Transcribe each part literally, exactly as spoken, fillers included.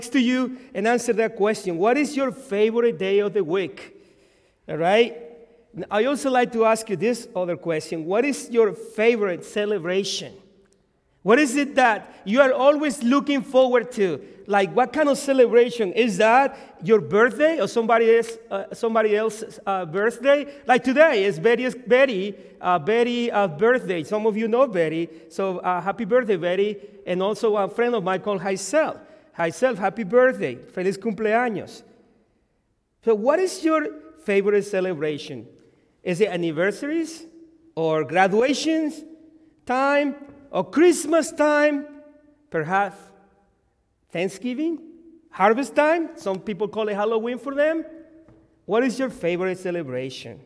to you and answer that question. What is your favorite day of the week? All right? I also like to ask you this other question. What is your favorite celebration? What is it that you are always looking forward to? Like, what kind of celebration? Is that your birthday or somebody else, uh, somebody else's uh, birthday? Like today is Betty's Betty, uh, Betty uh, birthday. Some of you know Betty, so uh, happy birthday, Betty. And also a friend of mine called Haisel. Haisel, happy birthday. Feliz cumpleaños. So what is your favorite celebration? Is it anniversaries or graduations time or Christmas time? Perhaps Thanksgiving, harvest time. Some people call it Halloween for them. What is your favorite celebration?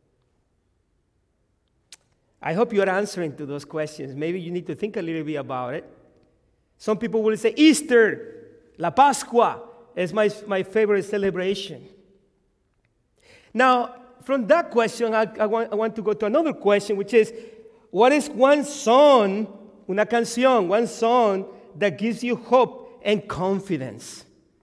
I hope you are answering to those questions. Maybe you need to think a little bit about it. Some people will say Easter, La Pascua is my, my favorite celebration. Now, from that question, I, I, want, I want to go to another question, which is, what is one song, una canción, one song that gives you hope and confidence?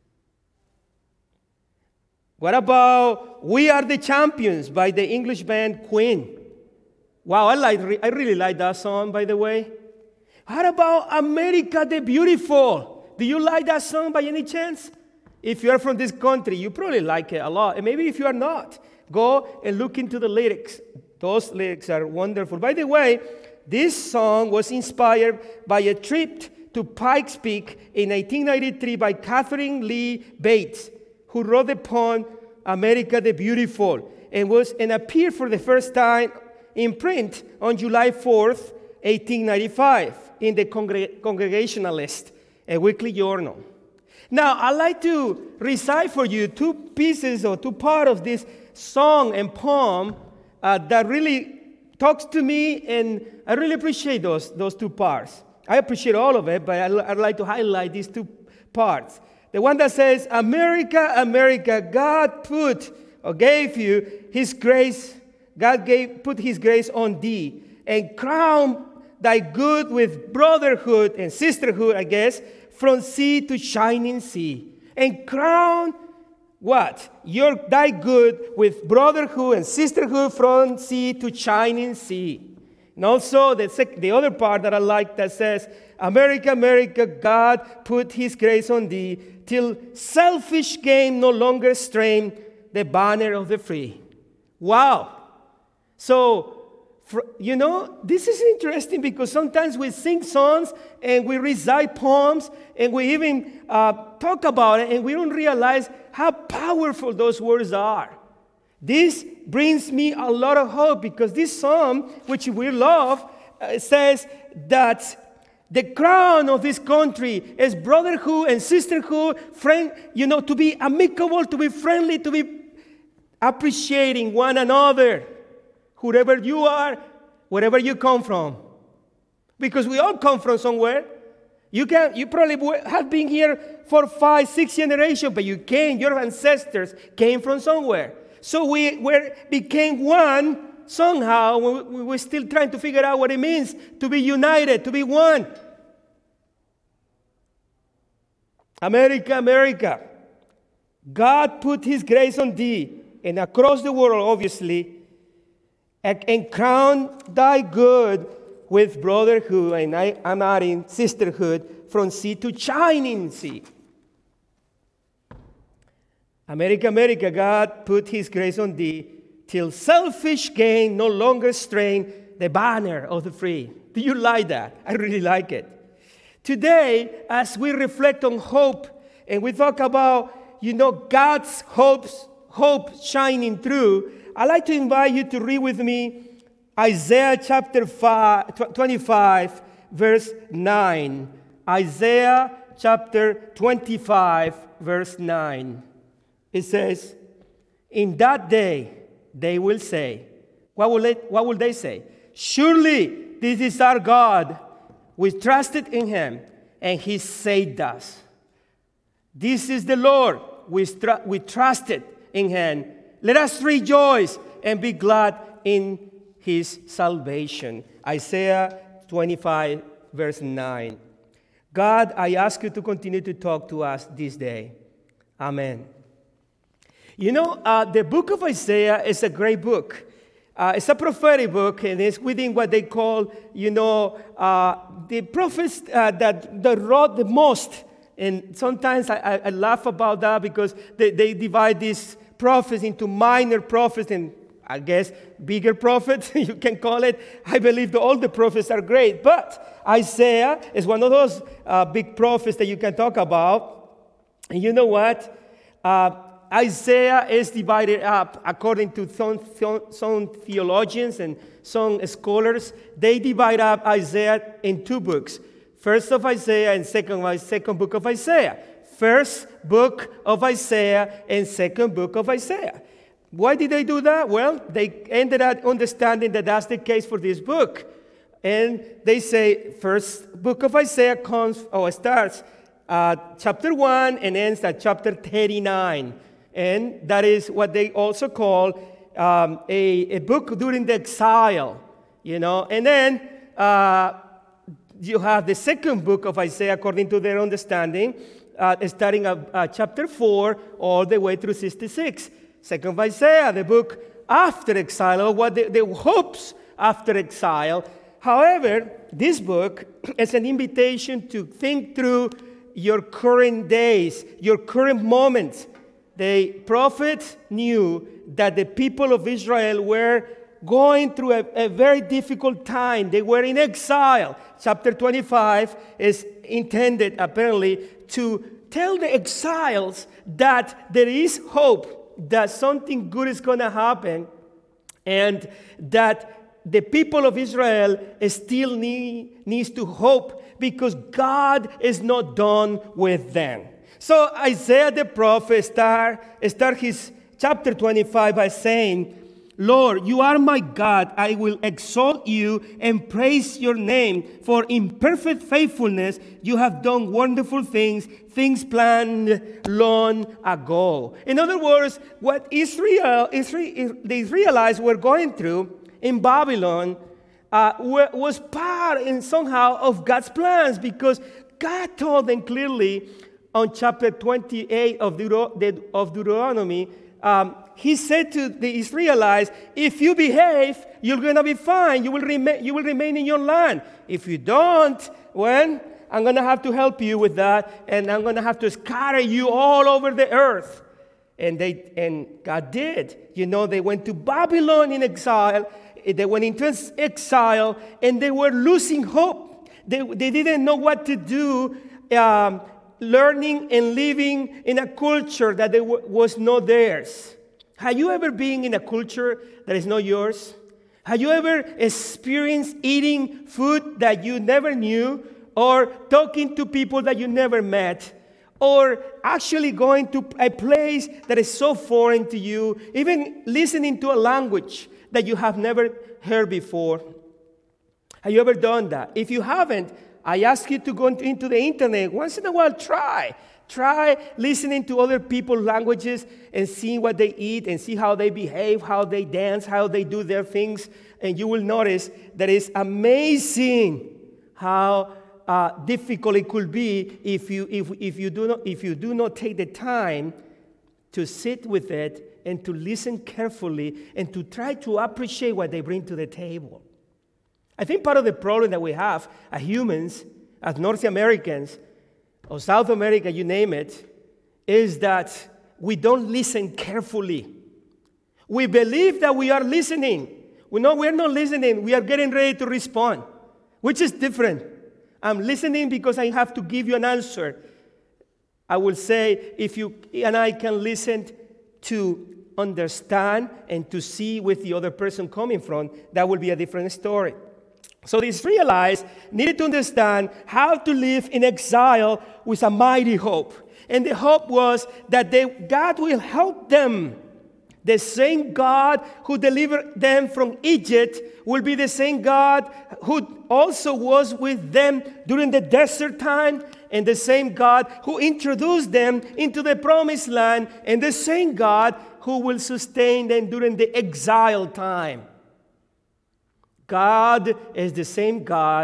What about We Are the Champions by the English band Queen? Wow, I, like, I really like that song, by the way. How about America the Beautiful? Do you like that song by any chance? If you are from this country, you probably like it a lot. And maybe if you are not, go and look into the lyrics. Those lyrics are wonderful. By the way, this song was inspired by a trip to Pikes Peak in nineteen ninety-three by Catherine Lee Bates, who wrote the poem America the Beautiful, and was and appeared for the first time in print on July fourth, eighteen ninety-five, in the Congre- Congregationalist, a weekly journal. Now, I'd like to recite for you two pieces or two parts of this song and poem uh, that really talks to me, and I really appreciate those, those two parts. I appreciate all of it, but I'd, I'd like to highlight these two parts. The one that says, America, America, God put or gave you His grace, God gave, put His grace on thee, and crown thy good with brotherhood and sisterhood, I guess, from sea to shining sea. And crown what? Your thy good with brotherhood and sisterhood from sea to shining sea. And also the, sec- the other part that I like that says, America, America, God put His grace on thee, till selfish gain no longer strain the banner of the free. Wow. So, for, you know, this is interesting because sometimes we sing songs and we recite poems and we even uh, talk about it and we don't realize how powerful those words are. This brings me a lot of hope because this song, which we love, uh, says that the crown of this country is brotherhood and sisterhood, friend, you know, to be amicable, to be friendly, to be appreciating one another. Whoever you are, wherever you come from. Because we all come from somewhere. You can, you probably have been here for five, six generations, but you came, your ancestors came from somewhere. So we were, became one somehow. We, we we're still trying to figure out what it means to be united, to be one. America, America, God put His grace on thee, and across the world, obviously, and crown thy good with brotherhood, and I, I'm adding sisterhood, from sea to shining sea. America, America, God put His grace on thee, till selfish gain no longer strain the banner of the free. Do you like that? I really like it. Today, as we reflect on hope, and we talk about, you know, God's hopes, hope shining through, I'd like to invite you to read with me Isaiah chapter five, twenty-five, verse nine. Isaiah chapter twenty-five, verse nine. It says, in that day they will say, what will they, what will they say? Surely this is our God. We trusted in Him, and He saved us. This is the Lord. We, tr- we trusted in Him. Let us rejoice and be glad in His salvation. Isaiah twenty-five, verse nine. God, I ask you to continue to talk to us this day. Amen. You know, uh, the book of Isaiah is a great book. Uh, it's a prophetic book, and it's within what they call, you know, uh, the prophets uh, that, that wrote the most. And sometimes I, I, I laugh about that because they, they divide these prophets into minor prophets and, I guess, bigger prophets, you can call it. I believe that all the prophets are great. But Isaiah is one of those uh, big prophets that you can talk about. And you know what? Uh, Isaiah is divided up according to some, some theologians and some scholars. They divide up Isaiah in two books. First of Isaiah and second, second book of Isaiah. First book of Isaiah and second book of Isaiah. Why did they do that? Well, they ended up understanding that that's the case for this book. And they say first book of Isaiah comes or starts at chapter one and ends at chapter thirty-nine. And that is what they also call um, a, a book during the exile, you know. And then uh, you have the second book of Isaiah, according to their understanding, uh, starting at uh, chapter four all the way through sixty-six. Second of Isaiah, the book after exile, or what the, the hopes after exile. However, this book is an invitation to think through your current days, your current moments. The prophet knew that the people of Israel were going through a, a very difficult time. They were in exile. Chapter twenty-five is intended, apparently, to tell the exiles that there is hope, that something good is going to happen, and that the people of Israel still need, needs to hope because God is not done with them. So Isaiah the prophet start, start his chapter twenty-five by saying, Lord, you are my God. I will exalt you and praise your name. For in perfect faithfulness you have done wonderful things, things planned long ago. In other words, what Israel, Israel the Israelites were going through in Babylon uh, were, was part in somehow of God's plans, because God told them clearly on chapter twenty-eight of, Deut- of Deuteronomy, um, he said to the Israelites, if you behave, you're going to be fine. You will, remain, you will remain in your land. If you don't, well, I'm going to have to help you with that, and I'm going to have to scatter you all over the earth. And they and God did. You know, they went to Babylon in exile. They went into exile, and they were losing hope. They, they didn't know what to do, um, learning and living in a culture that they w- was not theirs. Have you ever been in a culture that is not yours? Have you ever experienced eating food that you never knew, or talking to people that you never met, or actually going to a place that is so foreign to you, even listening to a language that you have never heard before? Have you ever done that? If you haven't, I ask you to go into the internet. Once in a while, try. Try listening to other people's languages and seeing what they eat and see how they behave, how they dance, how they do their things. And you will notice that it's amazing how uh, difficult it could be if you, if, if, you do not, if you do not take the time to sit with it and to listen carefully and to try to appreciate what they bring to the table. I think part of the problem that we have as humans, as North Americans, or South America, you name it, is that we don't listen carefully. We believe that we are listening. We know we're not listening. We are getting ready to respond, which is different. I'm listening because I have to give you an answer. I will say, if you and I can listen to understand and to see where the other person coming from, that will be a different story. So the Israelites needed to understand how to live in exile with a mighty hope. And the hope was that they, God will help them. The same God who delivered them from Egypt will be the same God who also was with them during the desert time, and the same God who introduced them into the promised land, and the same God who will sustain them during the exile time. God is the same God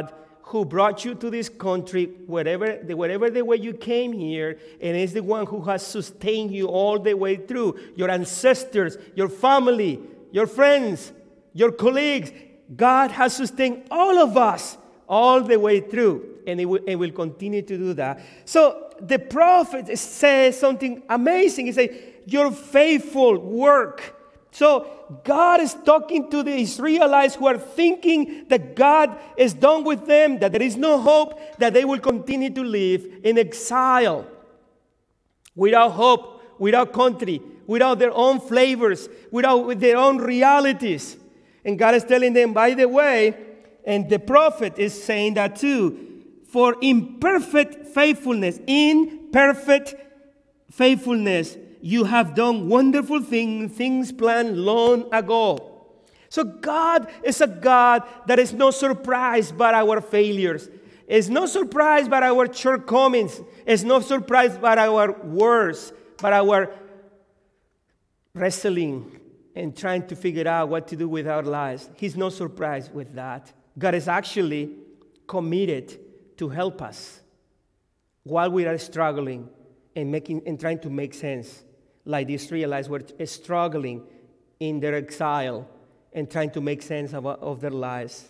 who brought you to this country, wherever the, wherever the way you came here, and is the one who has sustained you all the way through. Your ancestors, your family, your friends, your colleagues. God has sustained all of us all the way through, and it will, it will continue to do that. So the prophet says something amazing. He says, your faithful work. So God is talking to the Israelites who are thinking that God is done with them, that there is no hope, that they will continue to live in exile, without hope, without country, without their own flavors, without their own realities. And God is telling them, by the way, and the prophet is saying that too, for imperfect faithfulness, imperfect faithfulness, you have done wonderful things, things planned long ago. So God is a God that is not surprised by our failures. Is not surprised by our shortcomings. Is not surprised by our words, by our wrestling and trying to figure out what to do with our lives. He's not surprised with that. God is actually committed to help us while we are struggling and making and trying to make sense. Like the Israelites were struggling in their exile and trying to make sense of, of their lives.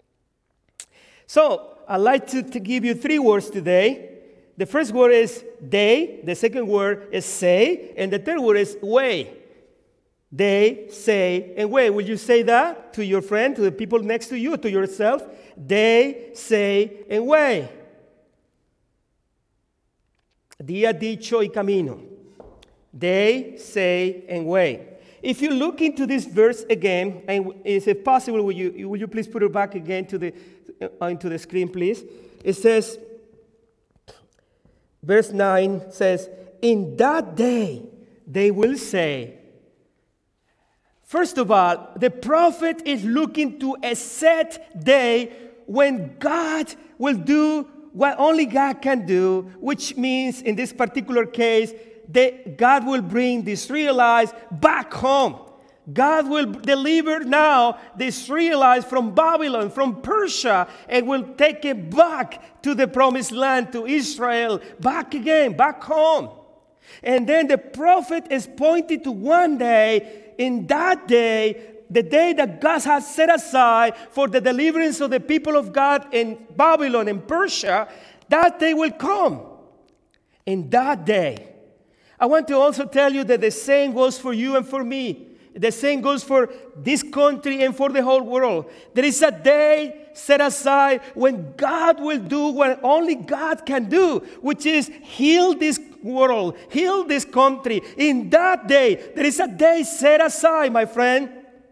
So, I'd like to, to give you three words today. The first word is they, the second word is say, and the third word is way. They, say, and way. Will you say that to your friend, to the people next to you, to yourself? They, say, and way. Día, dicho, y camino. They, say, and way. If you look into this verse again, and is it possible, will you, will you please put it back again to the, uh, into the screen, please? It says, verse nine says, in that day they will say. First of all, the prophet is looking to a set day when God will do what only God can do, which means in this particular case, that God will bring the Israelites back home. God will deliver now the Israelites from Babylon, from Persia, and will take it back to the promised land, to Israel, back again, back home. And then the prophet is pointing to one day, in that day, the day that God has set aside for the deliverance of the people of God in Babylon and Persia, that day will come. In that day. I want to also tell you that the same goes for you and for me. The same goes for this country and for the whole world. There is a day set aside when God will do what only God can do, which is heal this world, heal this country. In that day, there is a day set aside, my friend.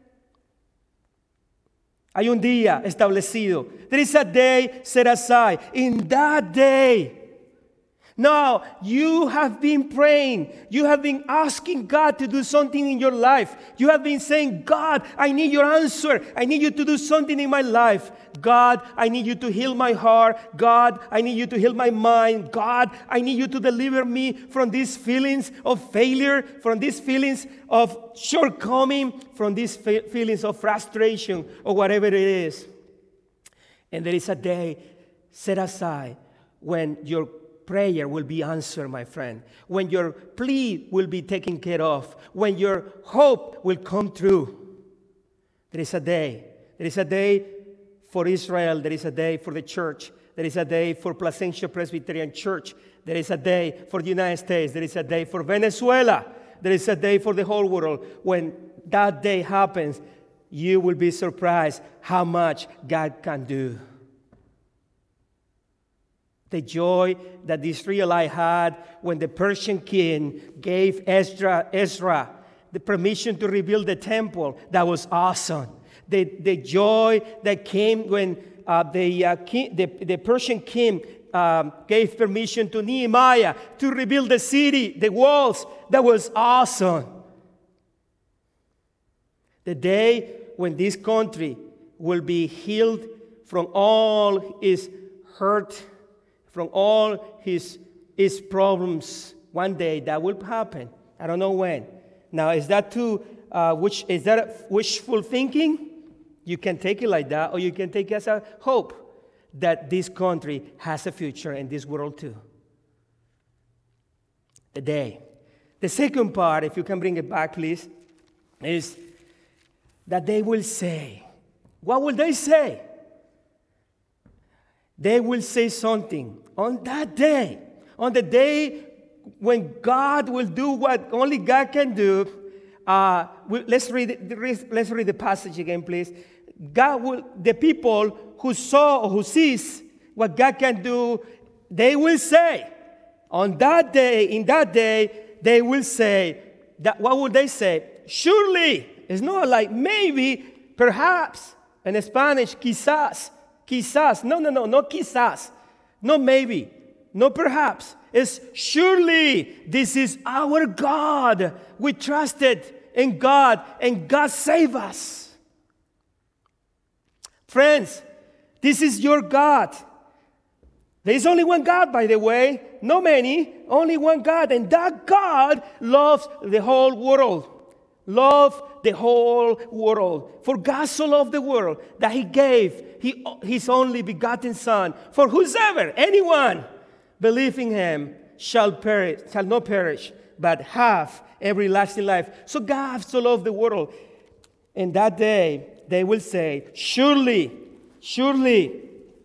Hay un día establecido. There is a day set aside. In that day. Now, you have been praying. You have been asking God to do something in your life. You have been saying, God, I need your answer. I need you to do something in my life. God, I need you to heal my heart. God, I need you to heal my mind. God, I need you to deliver me from these feelings of failure, from these feelings of shortcoming, from these fe- feelings of frustration or whatever it is. And there is a day set aside when your prayer will be answered, my friend. When your plea will be taken care of. When your hope will come true. There is a day. There is a day for Israel. There is a day for the church. There is a day for Placentia Presbyterian Church. There is a day for the United States. There is a day for Venezuela. There is a day for the whole world. When that day happens, you will be surprised how much God can do. The joy that the Israelites had when the Persian king gave Ezra, Ezra the permission to rebuild the temple, that was awesome. The, the joy that came when uh, the, uh, king, the, the Persian king um, gave permission to Nehemiah to rebuild the city, the walls, that was awesome. The day when this country will be healed from all its hurt, from all his, his problems, one day that will happen. I don't know when. Now, is that too, uh, which, is that wishful thinking? You can take it like that, or you can take it as a hope. that this country has a future in this world too. The day. The second part, if you can bring it back, please, is that they will say. What will they say? They will say something on that day, on the day when God will do what only God can do. Uh, we, let's read. Let's read the passage again, please. God will. The people who saw or who sees what God can do, they will say, on that day, in that day, they will say that. What would they say? Surely. It's not like maybe, perhaps. In Spanish, quizás. Quizás. No, no, no, no quizás. No maybe. No perhaps. It's surely this is our God. We trusted in God and God saved us. Friends, this is your God. There is only one God, by the way. No many. Only one God. And that God loves the whole world. Love the whole world. For God so loved the world that he gave he, his only begotten Son. For whosoever, anyone, believe in him shall perish, shall not perish, but have everlasting life. So God so loved the world. And that day they will say, surely, surely,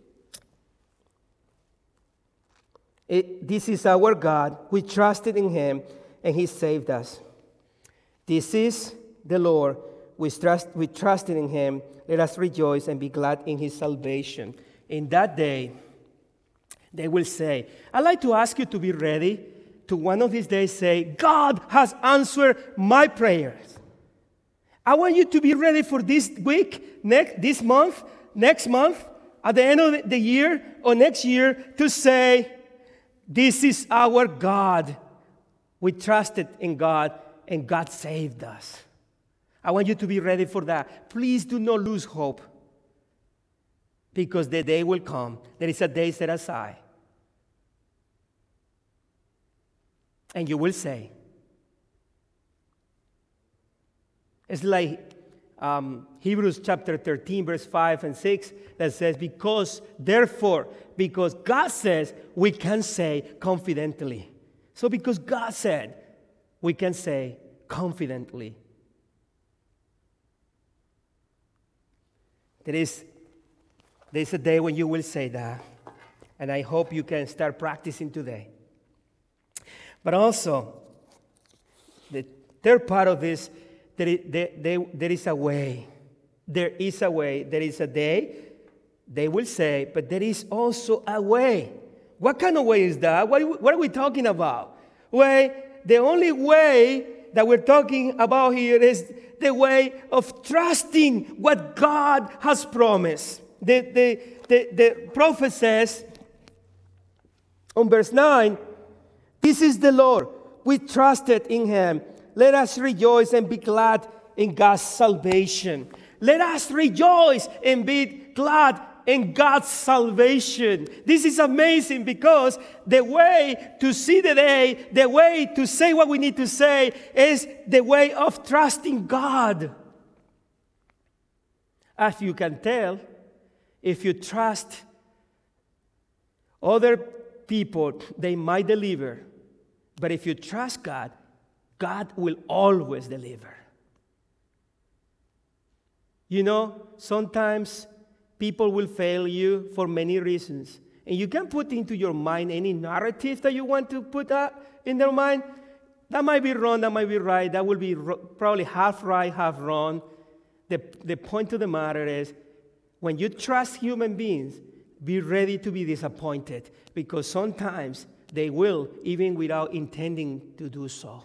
it, this is our God. We trusted in him and he saved us. This is the Lord. We trust, we trusted in him. Let us rejoice and be glad in his salvation. In that day, they will say, I'd like to ask you to be ready to one of these days say, God has answered my prayers. I want you to be ready for this week, next, this month, next month, at the end of the year or next year to say, this is our God. We trusted in God and God saved us. I want you to be ready for that. Please do not lose hope because the day will come. There is a day set aside. And you will say, it's like um, Hebrews chapter thirteen, verse five and six, that says, because, therefore, because God says, we can say confidently. So because God said, we can say confidently. There is, there is a day when you will say that, and I hope you can start practicing today. But also, the third part of this, there is, there, there, there is a way. There is a way. There is a day, they will say, but there is also a way. What kind of way is that? What, what are we talking about? Way, the only way that we're talking about here is the way of trusting what God has promised. The, the, the, the prophet says on verse nine, this is the Lord. We trusted in him. Let us rejoice and be glad in God's salvation. Let us rejoice and be glad in God's salvation. This is amazing because the way to see the day, the way to say what we need to say is the way of trusting God. As you can tell, if you trust other people, they might deliver. But if you trust God, God will always deliver. You know, sometimes people will fail you for many reasons. And you can put into your mind any narrative that you want to put up in their mind. That might be wrong, that might be right. That will be ro- probably half right, half wrong. The, the point of the matter is, when you trust human beings, be ready to be disappointed. Because sometimes they will, even without intending to do so.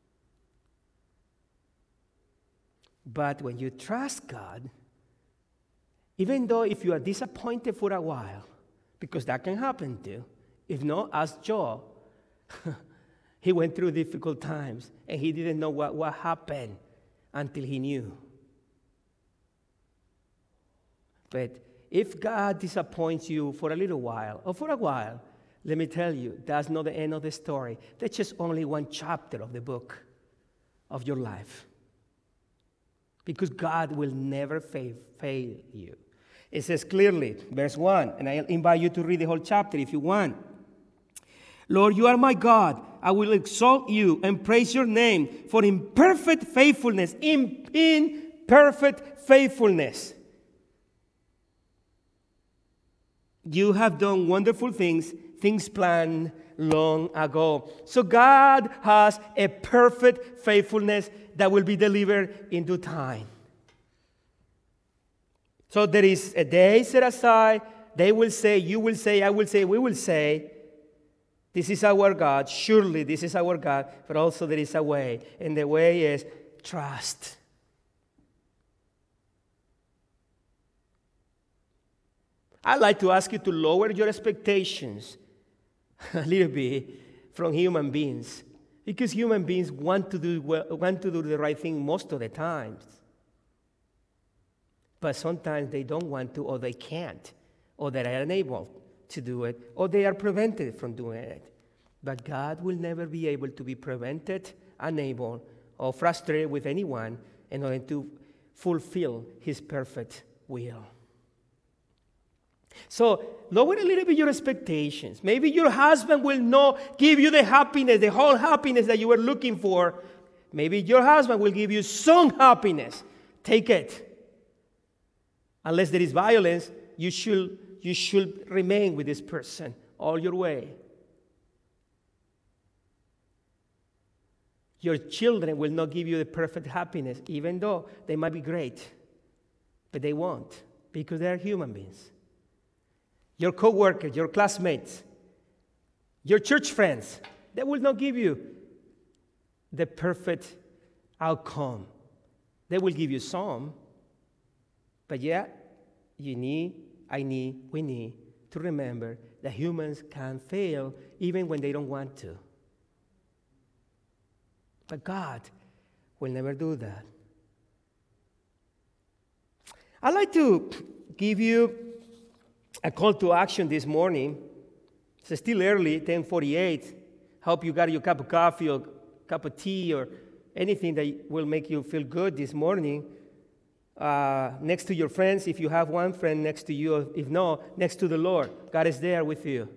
But when you trust God, even though if you are disappointed for a while, because that can happen too. If not, ask Job. He went through difficult times, and he didn't know what, what happened until he knew. But if God disappoints you for a little while, or for a while, let me tell you, that's not the end of the story. That's just only one chapter of the book of your life. Because God will never fail, fail you. It says clearly, verse one, and I invite you to read the whole chapter if you want. Lord, you are my God. I will exalt you and praise your name, for in perfect faithfulness, in, in perfect faithfulness, you have done wonderful things, things planned long ago. So God has a perfect faithfulness that will be delivered in due time. So there is a day set aside. They will say, you will say, I will say, we will say, this is our God. Surely this is our God. But also there is a way. And the way is trust. I'd like to ask you to lower your expectations a little bit from human beings. Because human beings want to do well, want to do the right thing most of the times. But sometimes they don't want to, or they can't, or they are unable to do it, or they are prevented from doing it. But God will never be able to be prevented, unable, or frustrated with anyone in order to fulfill his perfect will. So lower a little bit your expectations. Maybe your husband will not give you the happiness, the whole happiness that you were looking for. Maybe your husband will give you some happiness. Take it. Unless there is violence, you should, you should remain with this person all your way. Your children will not give you the perfect happiness, even though they might be great. But they won't, because they are human beings. Your co-workers, your classmates, your church friends, they will not give you the perfect outcome. They will give you some. But yeah, you need, I need, we need to remember that humans can fail even when they don't want to. But God will never do that. I'd like to give you a call to action this morning. It's still early, ten forty-eight. Hope you got your cup of coffee or cup of tea or anything that will make you feel good this morning. Uh, next to your friends, if you have one friend next to you, if not, next to the Lord. God is there with you.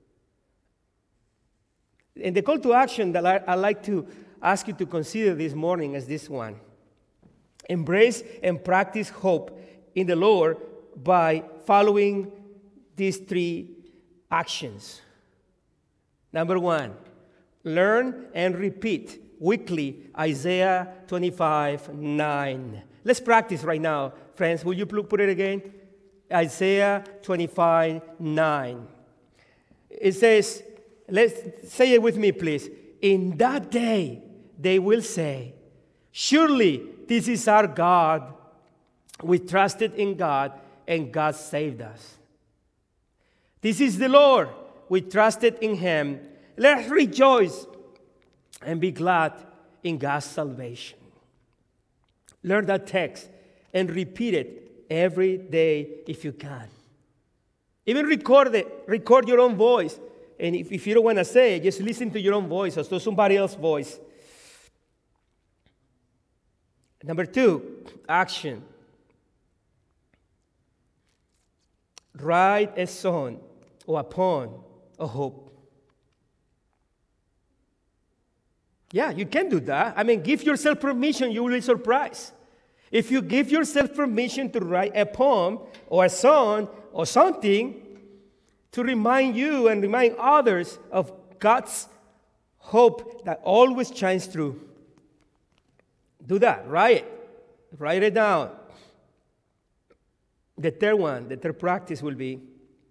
And the call to action that I, I'd like to ask you to consider this morning is this one. Embrace and practice hope in the Lord by following these three actions. Number one, learn and repeat weekly Isaiah twenty-five nine. Let's practice right now, friends. Will you put it again? Isaiah twenty-five nine. It says, let's say it with me, please. In that day, they will say, surely this is our God. We trusted in God, and God saved us. This is the Lord. We trusted in him. Let's rejoice and be glad in God's salvation. Learn that text and repeat it every day if you can. Even record it. Record your own voice. And if, if you don't want to say it, just listen to your own voice or to somebody else's voice. Number two, action. Write a song or a poem of hope. Yeah, you can do that. I mean, give yourself permission, you will be surprised. If you give yourself permission to write a poem or a song or something to remind you and remind others of God's hope that always shines through, do that. Write it. Write it down. The third one, the third practice will be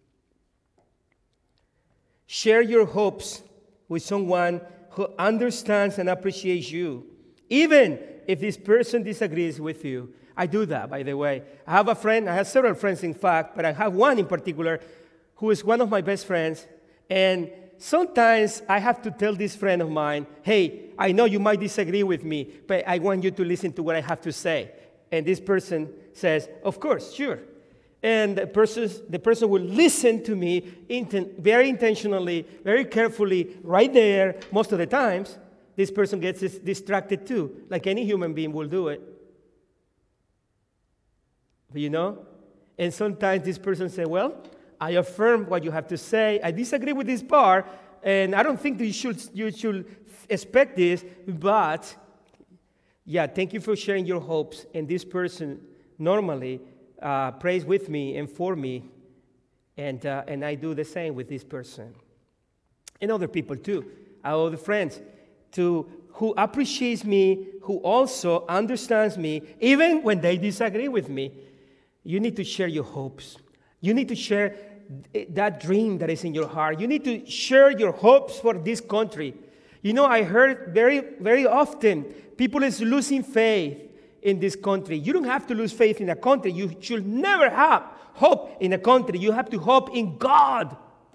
share your hopes with someone who understands and appreciates you, even if this person disagrees with you. I do that, by the way. I have a friend, I have several friends, in fact, but I have one in particular who is one of my best friends, and sometimes I have to tell this friend of mine, hey, I know you might disagree with me, but I want you to listen to what I have to say. And this person says, of course, sure. And the person, the person will listen to me inten- very intentionally, very carefully, right there. Most of the times, this person gets dis- distracted too, like any human being will do it. But you know? And sometimes this person say, well, I affirm what you have to say. I disagree with this part, and I don't think that you should, you should expect this, but yeah, thank you for sharing your hopes. And this person normally uh, prays with me and for me, and, uh, and I do the same with this person. And other people too, our other friends, to, who appreciates me, who also understands me, even when they disagree with me. You need to share your hopes. You need to share that dream that is in your heart. You need to share your hopes for this country. You know, I heard very, very often people is losing faith in this country. You don't have to lose faith in a country. You should never have hope in a country. You have to hope in God.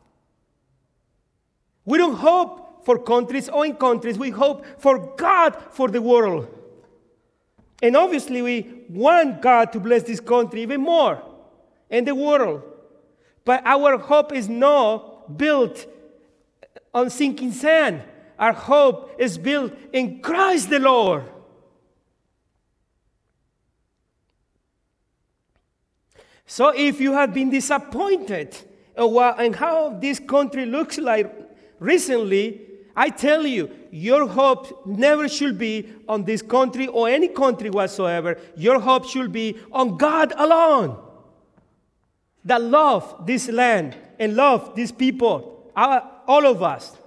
We don't hope for countries or in countries. We hope for God for the world. And obviously, we want God to bless this country even more and the world. But our hope is not built on sinking sand. Our hope is built in Christ the Lord. So if you have been disappointed in how this country looks like recently, I tell you, your hope never should be on this country or any country whatsoever. Your hope should be on God alone, that love this land and love these people, all of us.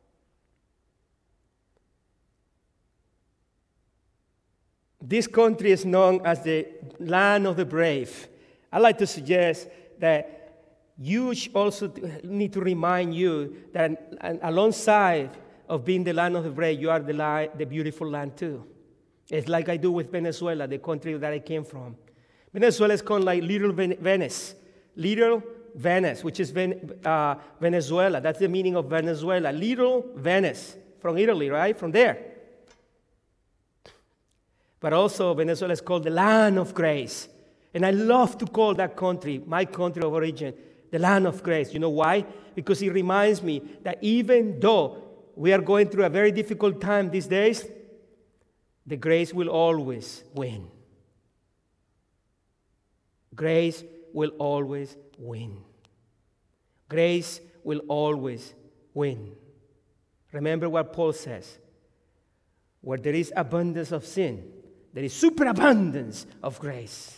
This country is known as the land of the brave. I'd like to suggest that you also need to remind you that alongside of being the land of the brave, you are the, li- the beautiful land too. It's like I do with Venezuela, the country that I came from. Venezuela is called like Little Ven- Venice. Little Venice, which is Ven- uh, Venezuela. That's the meaning of Venezuela. Little Venice, from Italy, right? From there. But also Venezuela is called the land of grace. And I love to call that country, my country of origin, the land of grace. You know why? Because it reminds me that even though we are going through a very difficult time these days, the grace will always win. Grace will always win. Grace will always win. Remember what Paul says. Where there is abundance of sin, there is superabundance of grace.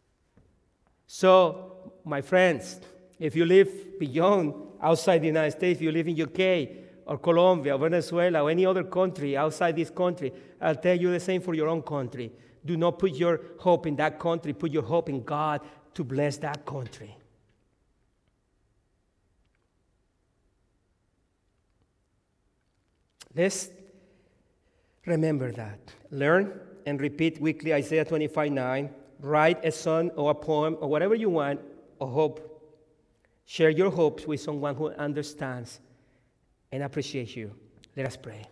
So, my friends, if you live beyond, outside the United States, if you live in U K or Colombia or Venezuela or any other country outside this country, I'll tell you the same for your own country. Do not put your hope in that country. Put your hope in God to bless that country. Let's remember that. Learn and repeat weekly Isaiah twenty-five nine. Write a song or a poem or whatever you want, or hope. Share your hopes with someone who understands and appreciates you. Let us pray.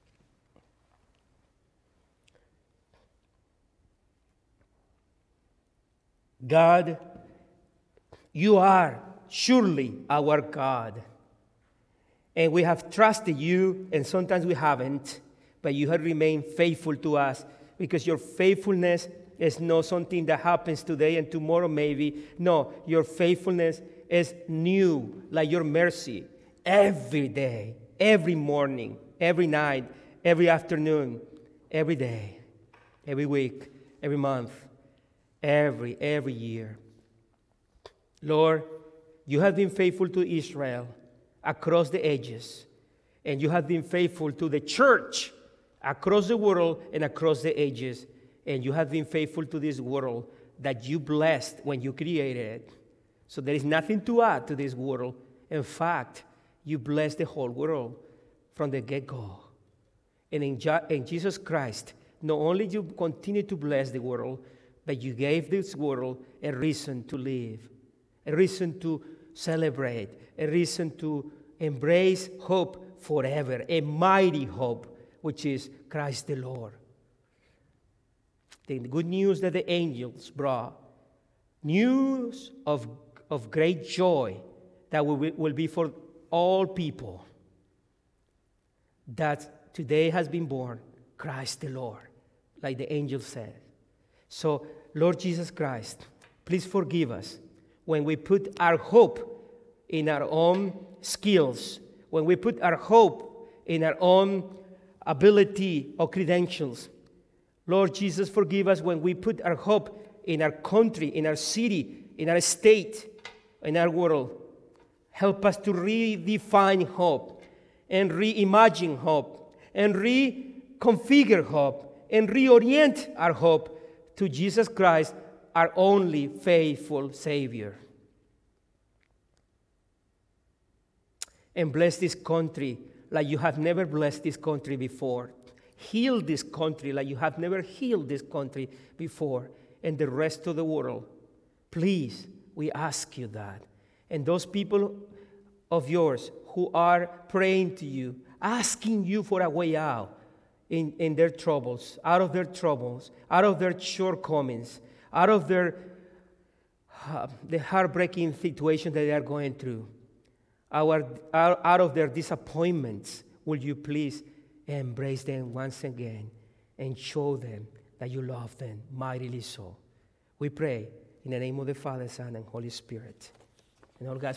God, you are surely our God. And we have trusted you, and sometimes we haven't, but you have remained faithful to us because your faithfulness is not something that happens today and tomorrow maybe. No, your faithfulness is new, like your mercy, every day, every morning, every night, every afternoon, every day, every week, every month, every, every year. Lord, you have been faithful to Israel across the ages, and you have been faithful to the church across the world and across the ages. And you have been faithful to this world that you blessed when you created it. So there is nothing to add to this world. In fact, you blessed the whole world from the get-go. And in, Je- in Jesus Christ, not only you continue to bless the world, but you gave this world a reason to live, a reason to celebrate, a reason to embrace hope forever, a mighty hope, which is Christ the Lord. The good news that the angels brought, news of, of great joy that will, will be for all people, that today has been born Christ the Lord, like the angel said. So, Lord Jesus Christ, please forgive us when we put our hope in our own skills, when we put our hope in our own ability or credentials. Lord Jesus, forgive us when we put our hope in our country, in our city, in our state, in our world. Help us to redefine hope and reimagine hope and reconfigure hope and reorient our hope to Jesus Christ, our only faithful Savior. And bless this country like you have never blessed this country before. Heal this country like you have never healed this country before, and the rest of the world. Please, we ask you that. And those people of yours who are praying to you, asking you for a way out in, in their troubles, out of their troubles, out of their shortcomings, out of their uh, the heartbreaking situation that they are going through, our, out, out of their disappointments, will you please embrace them once again and show them that you love them mightily so. We pray in the name of the Father, Son, and Holy Spirit. And all God's